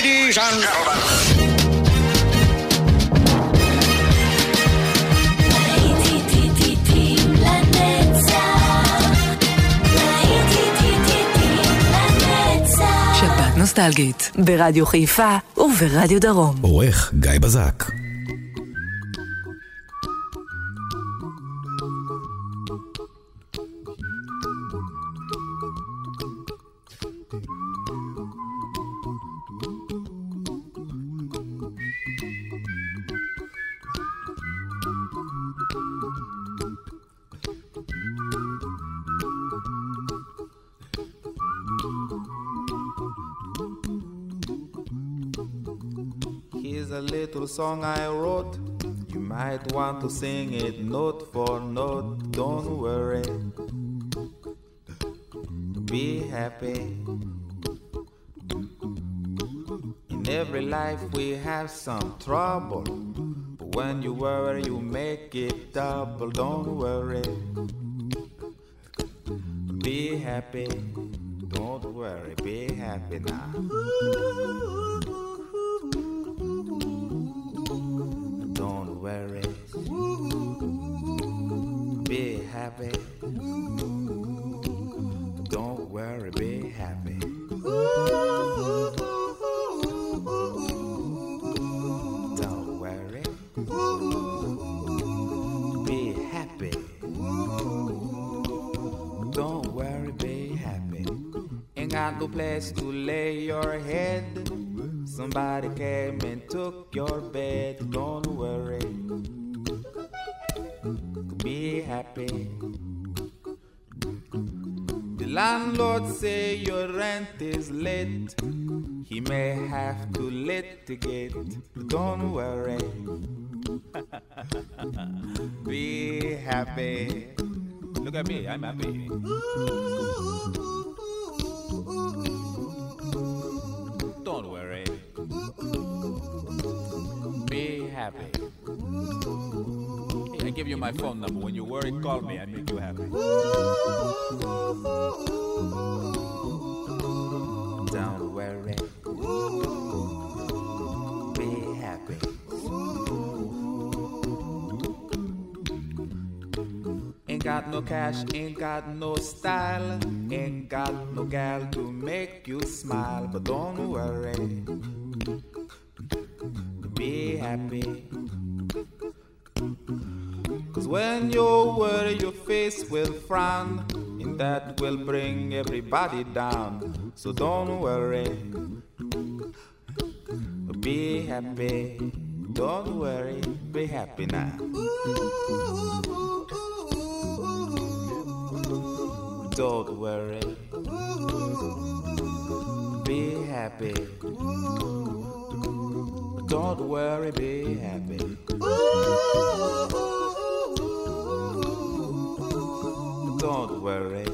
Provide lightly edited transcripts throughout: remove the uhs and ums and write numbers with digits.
Ladies and gentlemen. שבת נוסטלגית ברדיו חיפה וברדיו דרום. עורך גיא בזק. Song I wrote, you might want to sing it note for note. Don't worry, be happy. In every life we have some trouble, but when you worry you make it double. Don't worry, be happy. Don't worry, be happy now. Don't worry, be happy. Don't worry, be happy. Don't worry, be happy. Don't worry, be happy. Ain't got no place to lay your head. Somebody came and took your bed. Don't worry, be happy. The landlord say your rent is late. He may have to litigate. Don't worry, be happy. Look at me, I'm happy. Don't worry, be happy. Hey, I give you my phone number. When you're worried, call me. I make you happy. Don't worry, be happy. Ain't got no cash, ain't got no style, ain't got no gal to make you smile. But don't worry, be happy. Cause when you worry your face will frown, and that will bring everybody down. So don't worry, be happy. Don't worry, be happy now. Don't worry, be happy. Don't worry, be happy. Don't worry,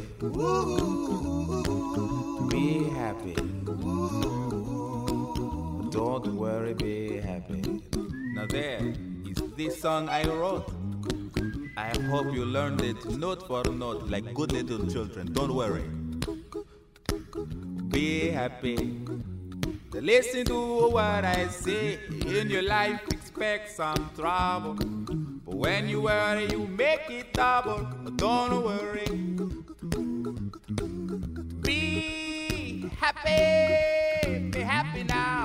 be happy. Don't worry, be happy. Now there is this song I wrote. I hope you learned it note for note like good little children. Don't worry, be happy. Listen to what I say. In your life expect some trouble, but when you worry you make it double. Don't worry, be happy. Be happy now.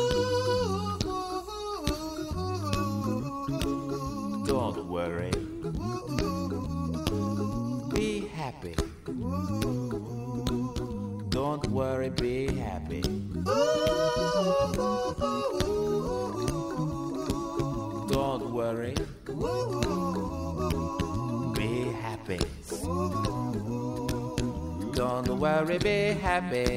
Don't worry, be happy. Don't worry, be happy. Don't worry, be happy. Don't worry, be happy.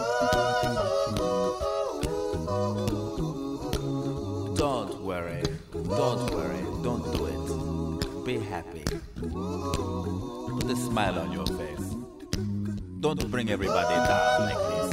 Don't worry, don't do it. Be happy. Put a smile on your face. Don't bring everybody down like this.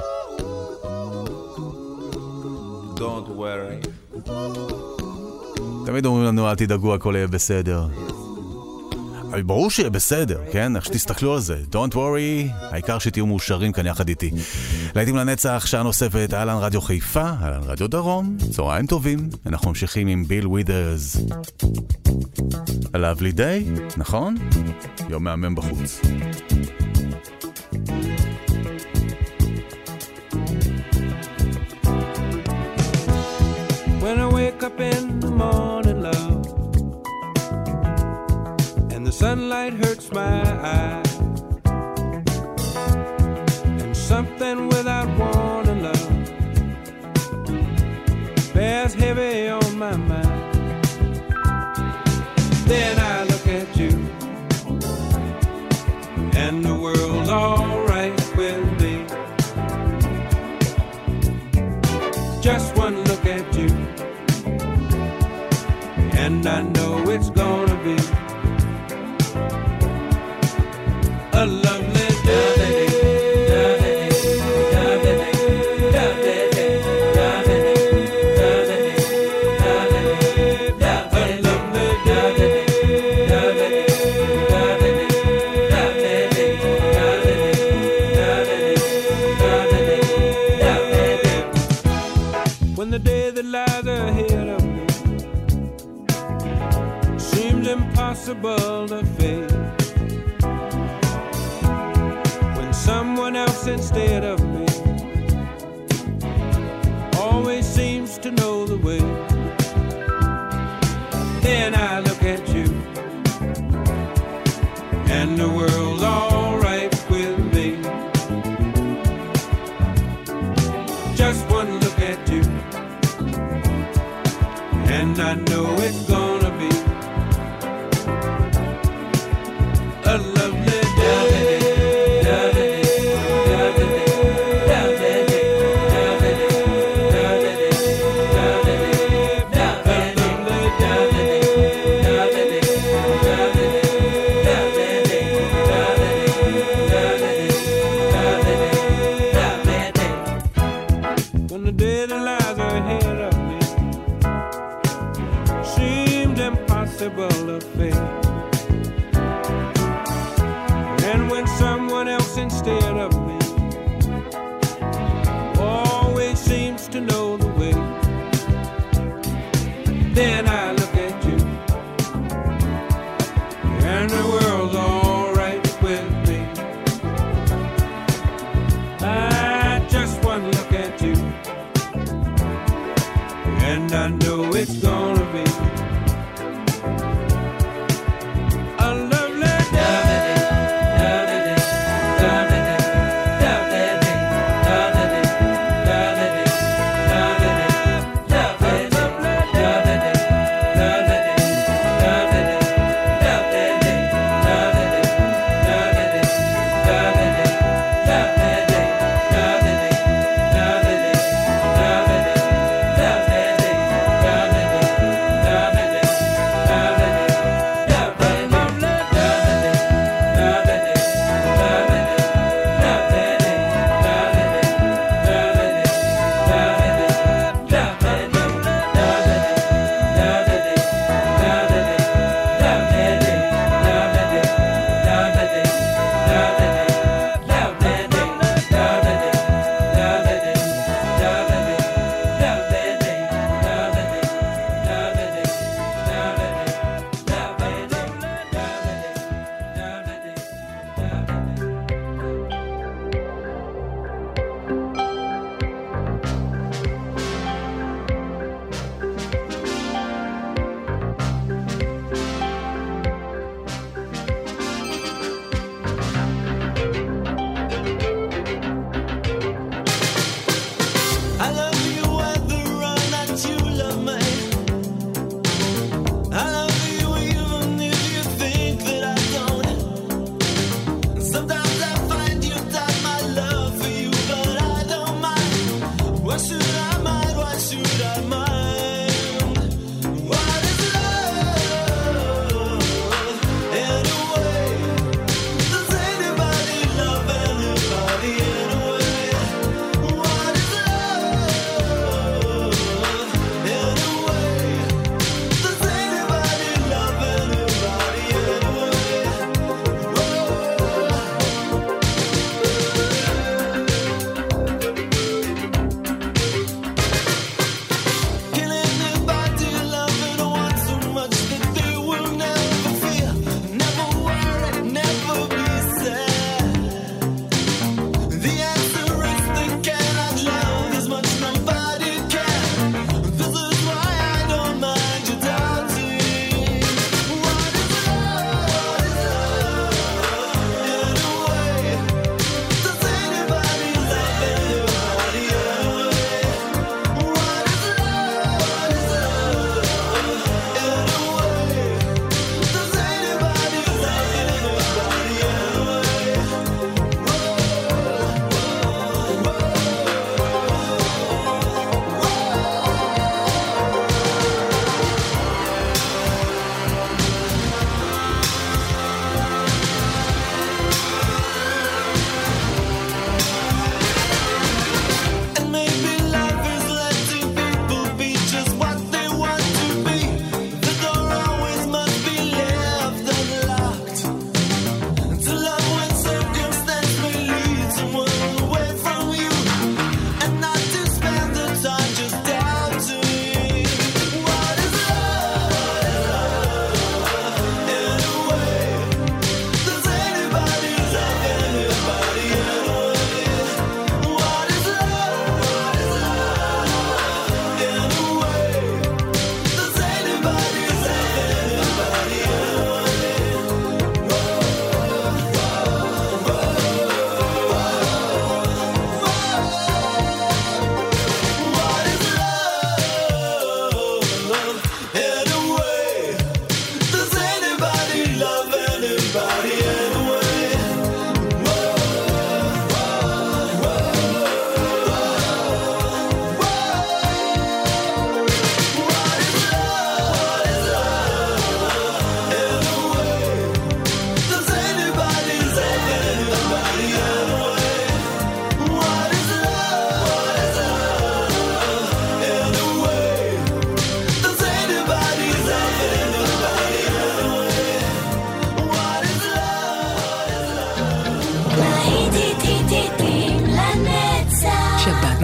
Don't worry. תמיד אומרים לנו אל תדאגו, הכל יהיה בסדר. ברור שיהיה בסדר, כן? איך שתסתכלו על זה. Don't worry, העיקר שתהיו מאושרים כאן יחד איתי. להיטים לנצח, שעה נוספת, אהלן רדיו חיפה, אהלן רדיו דרום, צהריים טובים. אנחנו ממשיכים עם ביל ווית'רס. A lovely day, נכון? יום מהמם בחוץ. When I wake up in the morning, love, and the sunlight hurts my eyes, and something without warning, love, bears heavy on my mind. Then I look at you, and the world's all right with me. Just one look at you, and I know it's gonna be a lovely day. When the day that lies ahead of me seems impossible to face, when someone else instead of me always seems to know the way, then I look at you, and the world's all right with me. Just one look at you, and I know it's gonna be a lovely day. When the day that lies ahead of me seems impossible to face, and when someone else instead of me always seems to know the way, then I look at you, and the world's all right with me. I just one look at you, and I know it's gonna be a lovely day.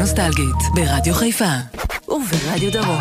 נוסטלגית, ברדיו חיפה וברדיו דרום.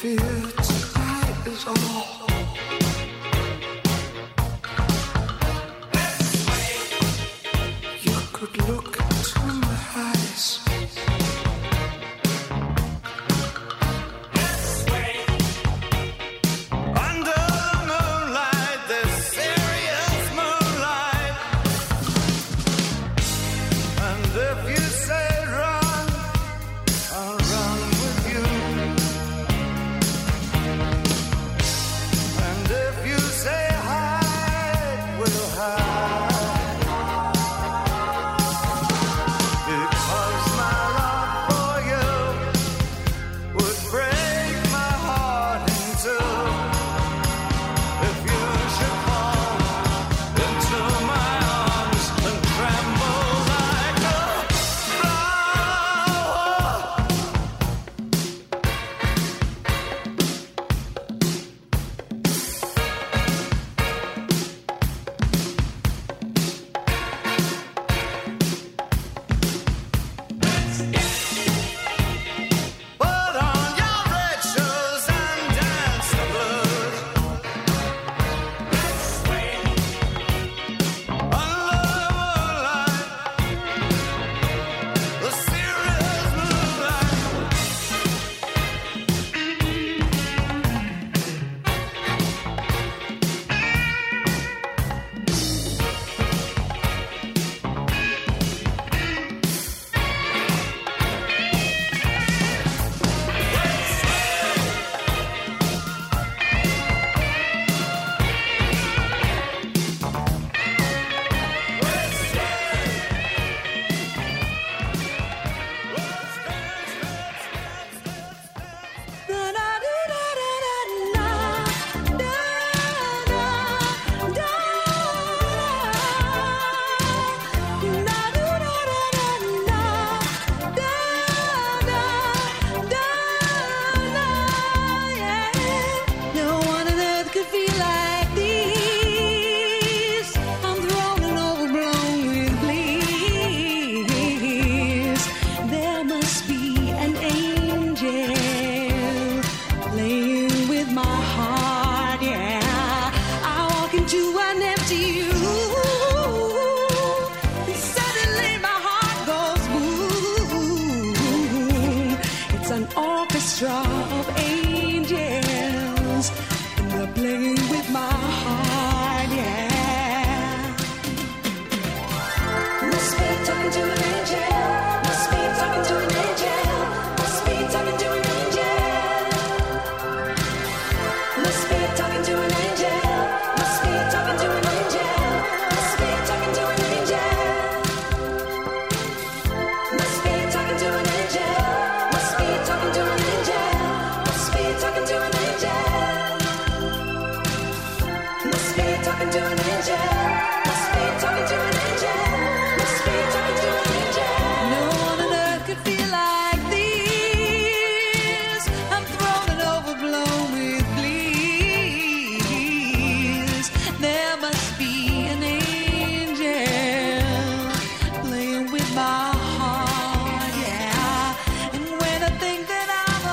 fear tonight is all. You could look into my eyes. Under the moonlight, this serious moonlight. And if you say run, I'll run with you. And if you say hide, we'll hide. Because my love for you would break my heart in two. If you should fall into my arms and tremble like a flower. Put on your red shoes and dance the blues. Under the moonlight, the serious moonlight. No one on earth could feel like this. I'm thrown and overblown with bliss. There must be an angel playing with my heart, yeah. I walk into an empty room, and suddenly my heart goes boom. It's an orchestra of angels, and they're playing with my heart, yeah. Must be talking to an angel. Must be talking to an angel. Must be talking to an angel. Must be talking to an angel. Must be talking to an angel. Must be talking to an angel. Must be talking to an angel. Must be talking to an angel. Must be talking to an angel. Must be talking to an angel. Must be talking to an angel. Must be talking to an angel. No one on earth could feel like this. I'm thrown and overblown with bliss. There must be an angel playing with my heart, yeah. And when I think that I'm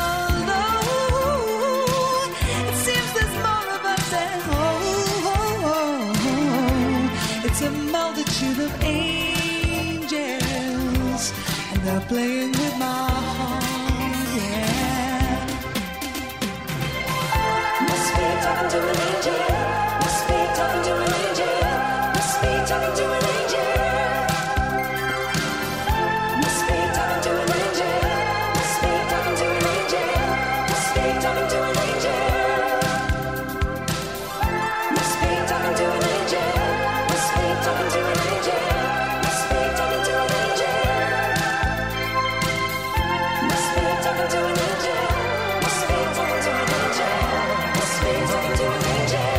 alone, it seems there's more of us at home. It's a multitude of angels, and they're playing with my heart, yeah. Must be talking to an angel. Must be talking to an angel. Must be talking to an angel. Must be talking to an angel. Must be talking to an angel. Must be talking to an angel. Must be talking to an angel. Must be talking to an angel. Must be talking to an angel. Must be talking to an angel. Must be talking to an angel. Must be talking to an angel.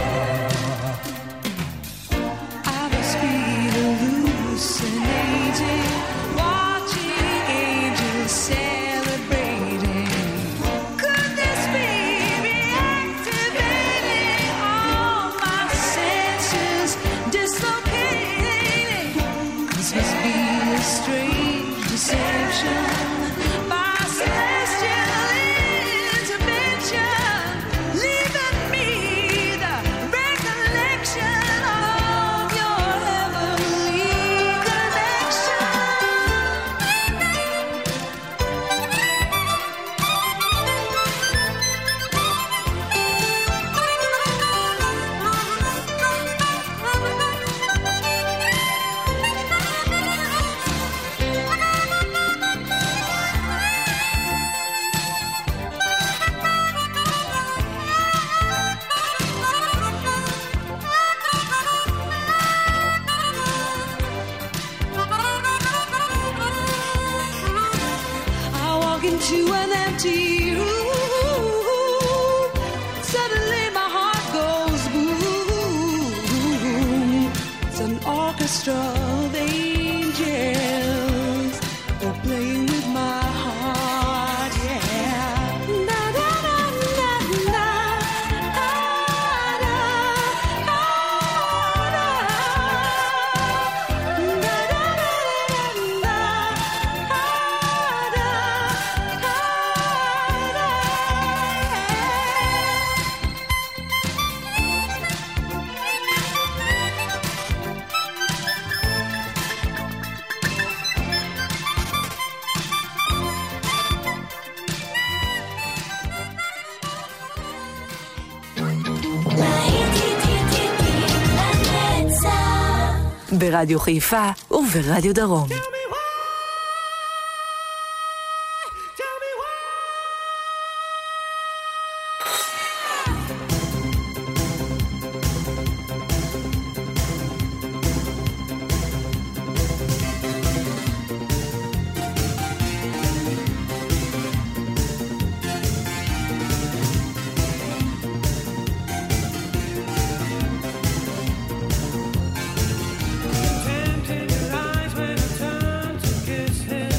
ברדיו חיפה וברדיו דרום.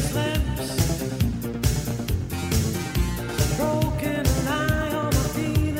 Broken lie on my feet.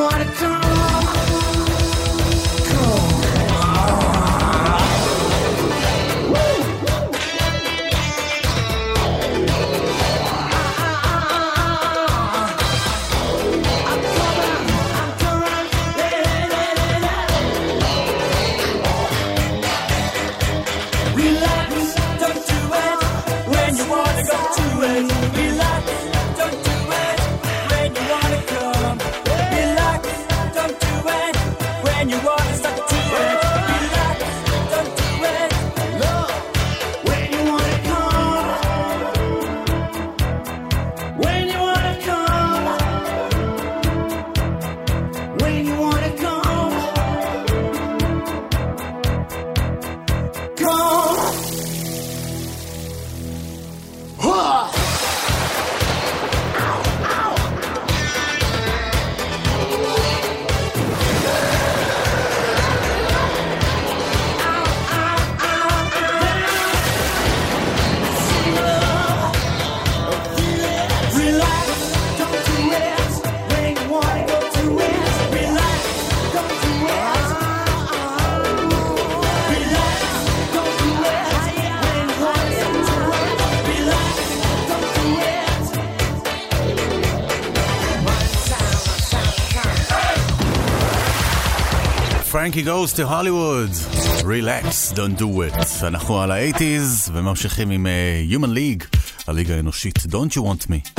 wanna come, come. Frankie goes to Hollywood. Relax, don't do it. אנחנו על ה-80s וממשיכים עם Human League, הליגה האנושית. Don't you want me?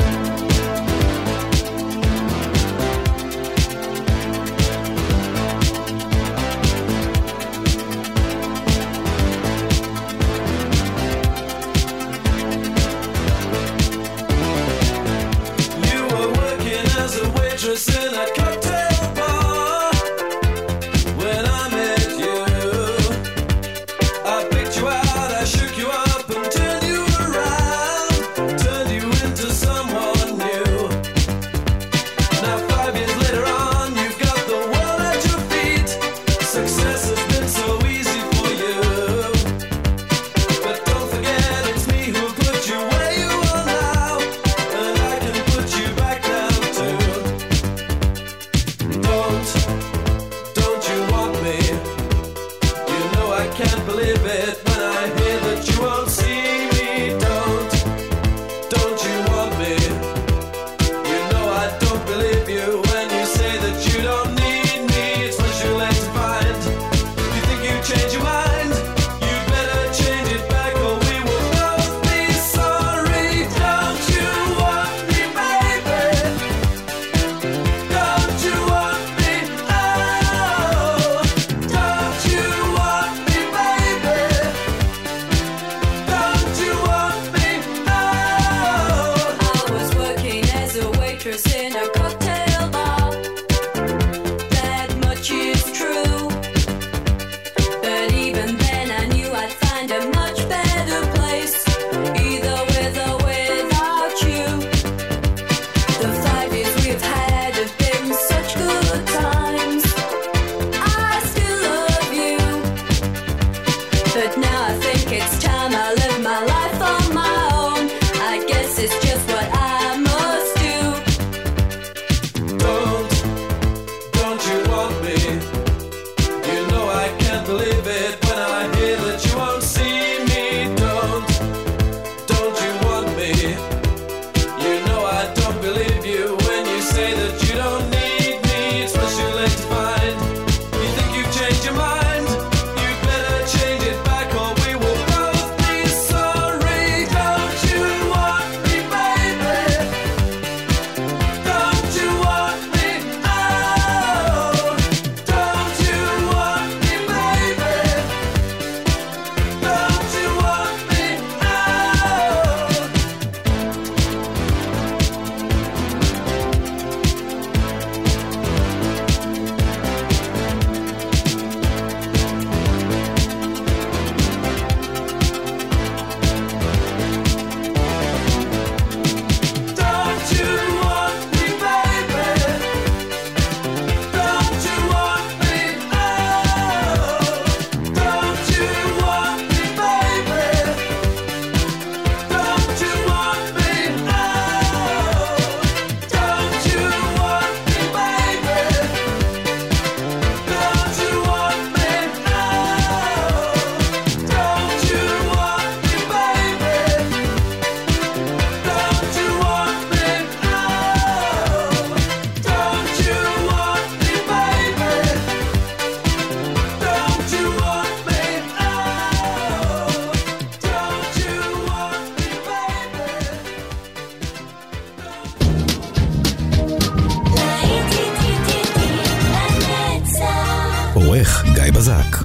העורך גיא בזק.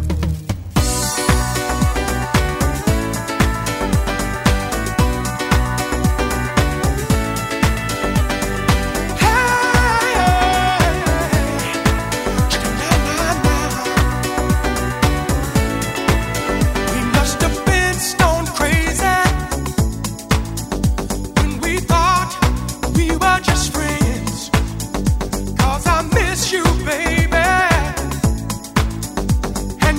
You, baby, and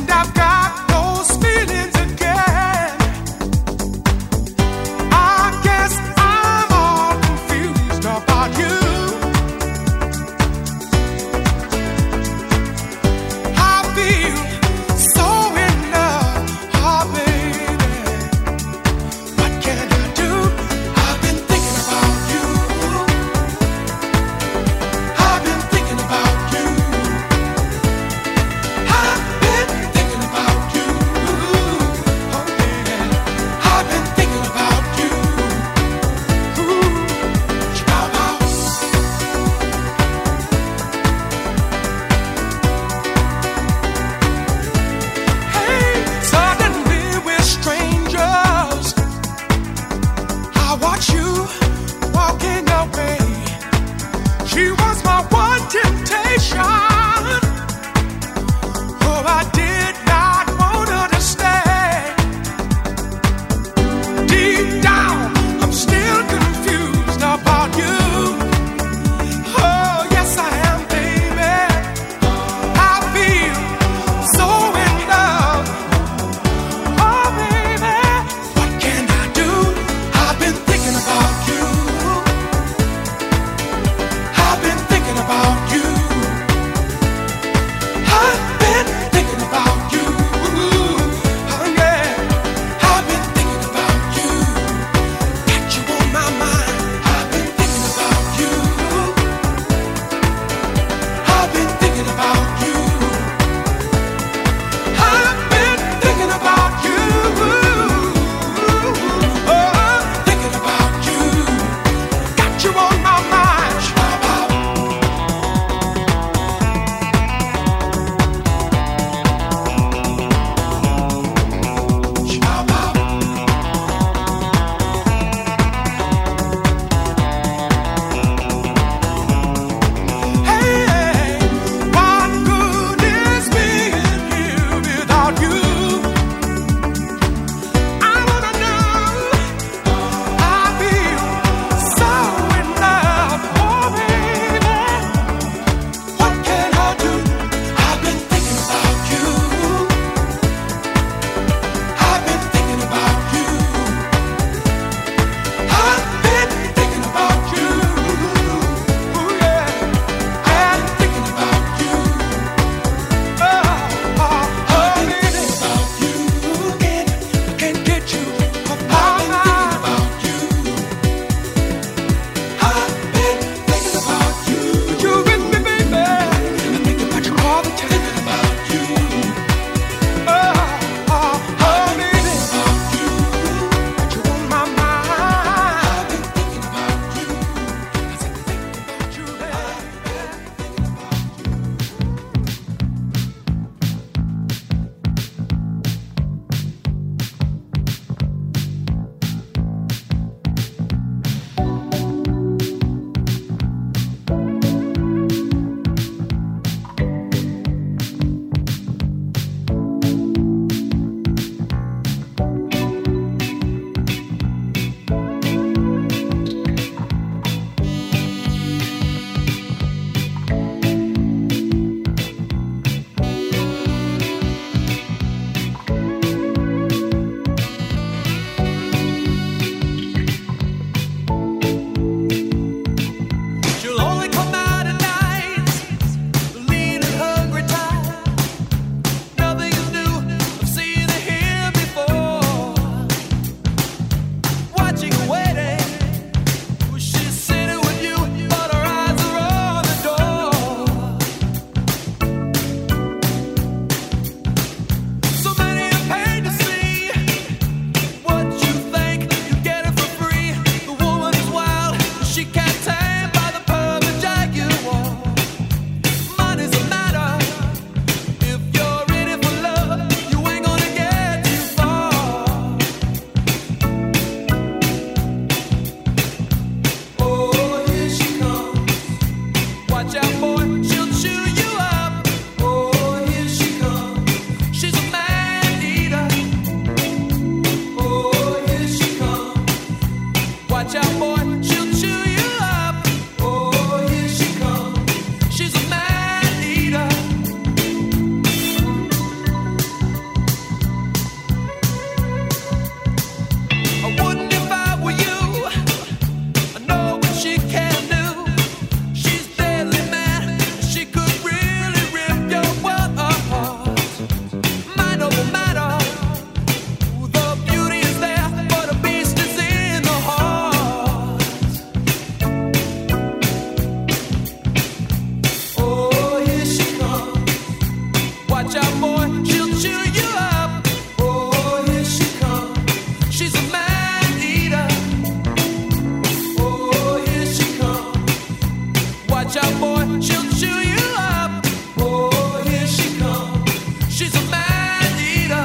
Watch out, boy, she'll chew you up. Oh, here she comes. She's a man eater.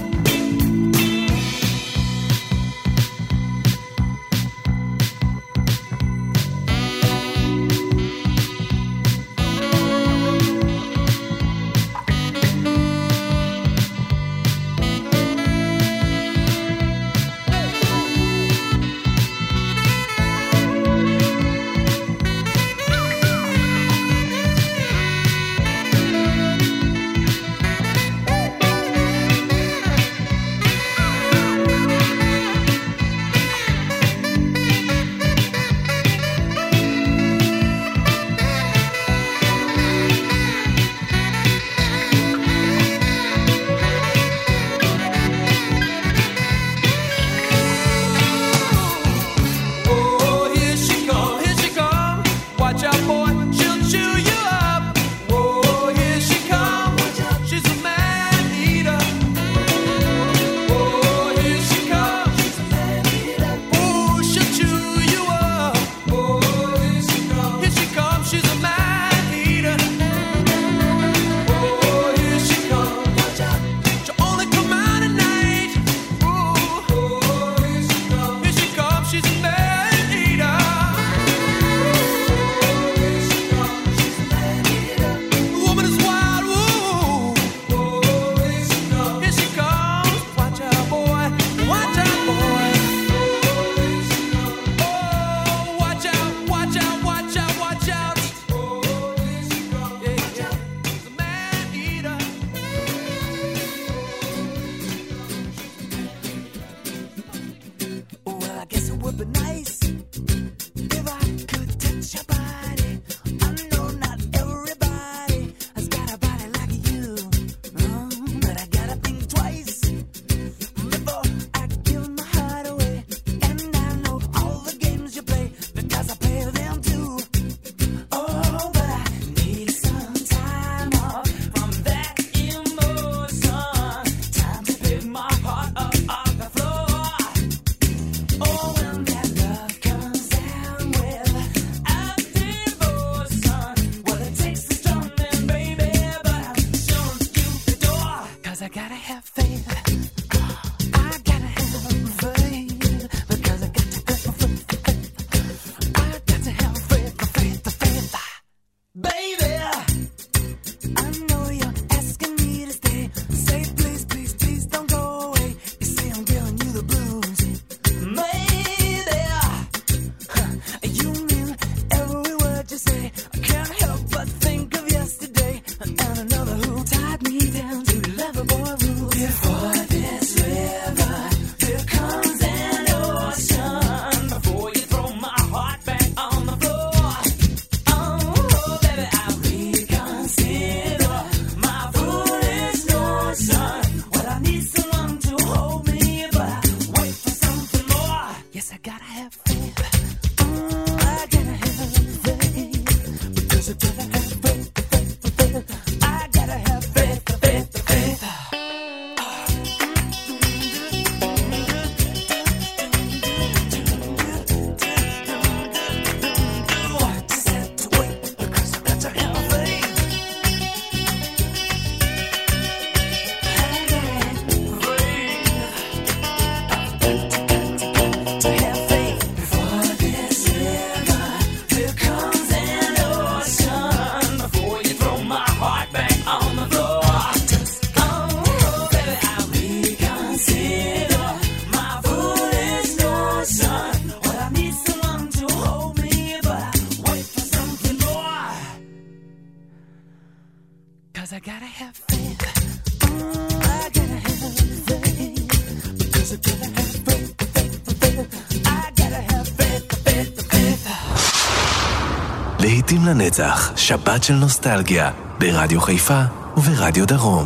להיטים לנצח, שבת של נוסטלגיה, ברדיו חיפה וברדיו דרום.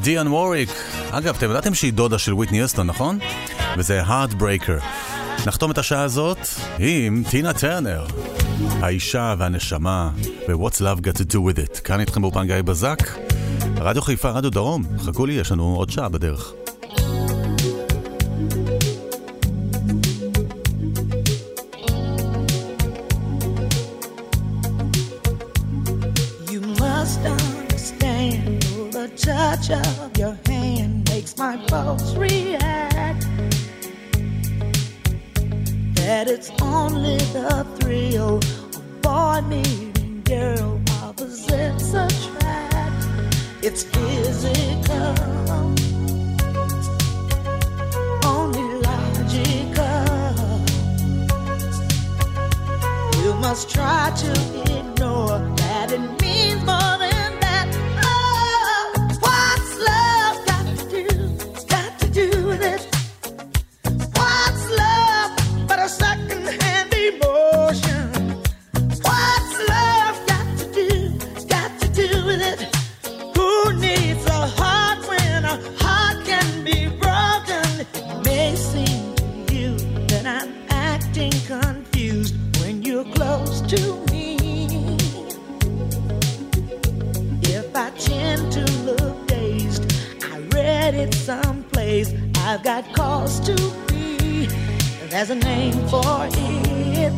דיאן ווריק. אגב, אתם ידעתם שהיא דודה של וויטני יוסטון, נכון? וזה Heartbreaker. נחתום את השעה הזאת עם טינה טרנר, האישה והנשמה, ו-What's Love Got to Do With It. כאן איתכם באופן גיא בזק, רדיו חיפה, רדיו דרום. חכו לי, יש לנו עוד שעה בדרך. Touch of your hand makes my pulse react. That it's only the thrill of boy meeting girl opposites attract. It's physical, only logical. You must try to ignore that it means more than I've got cause to be. There's a name for it.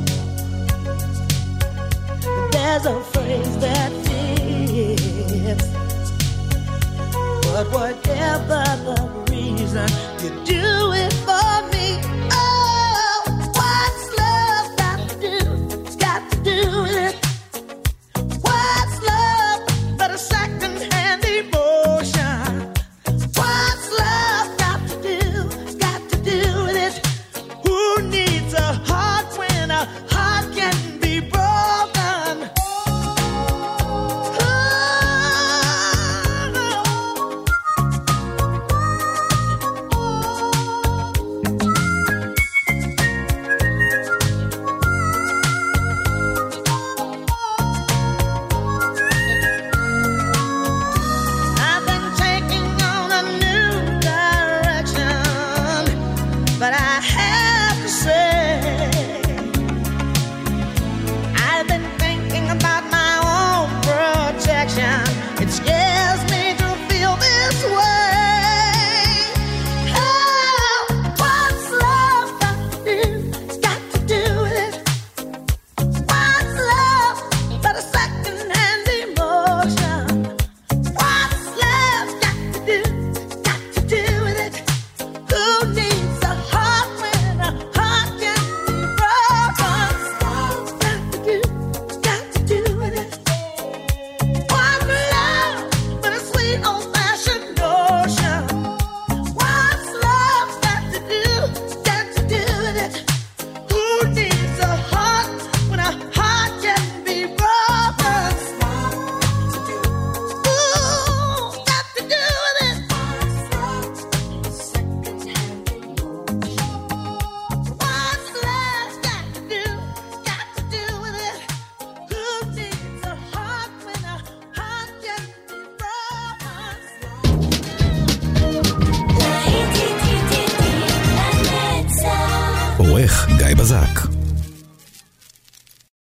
There's a phrase that fits. But whatever the reason, you do it for me. Oh, what's love got to do? It's got to do with it. What's love but a second-hand emotion? What's love got to do? It's got to do with it. Who needs a heart when a heart can be broken? I've been taking on a new direction, but I have to say, I've been thinking about my own protection. It scares me to feel this way. Oh, what's love got to do? It's got to do with it. What's love but a second-hand emotion? What's love got to do? Got to do with it. Who needs a heart when a heart can be broken? Love's got to do, got to do with it. What's love but a sweet old-fashioned notion? What's love got to do with it? Who needs a heart when a heart can be broken? Ooh, got to do with it. What's love got to do with it? Who needs a heart when a heart can be broken? עורך גיא בזק.